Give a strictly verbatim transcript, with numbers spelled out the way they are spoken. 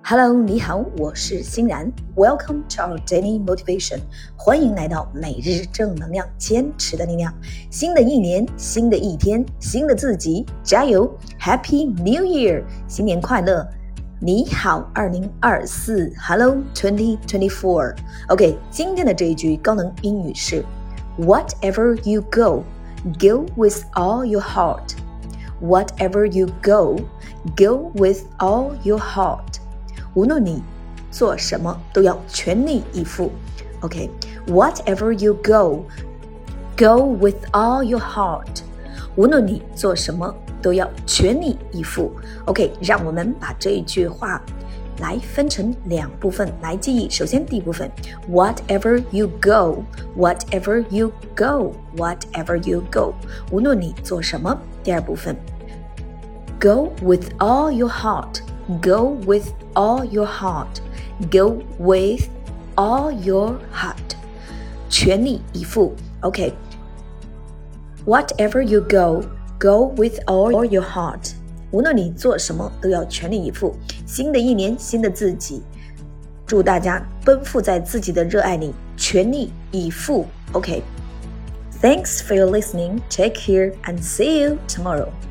Hello， 你好，我是欣然。Welcome to our daily motivation， 欢迎来到每日正能量，坚持的力量。新的一年，新的一天，新的自己，加油 ！Happy New Year， 新年快乐！你好，二零二四 ，Hello twenty twenty-four。OK， 今天的这一句高能英语是 Whatever you go, go with all your heart.Whatever you go, go with all your heart. 无论你做什么，都要全力以赴。OK, whatever you go, go with all your heart. 无论你做什么，都要全力以赴。OK, 让我们把这一句话来分成两部分来记忆。首先第一部分 Whatever you go, Whatever you go, Whatever you go. 无论你做什么。第二部分 Go with all your heart, Go with all your heart, Go with all your heart. 全力以赴。 OK, Whatever you go, Go with all your heart. 无论你做什么，都要全力以赴。新的一年，新的自己，祝大家奔赴在自己的热爱里，全力以赴。OK, Thanks for your listening. Take care and see you tomorrow.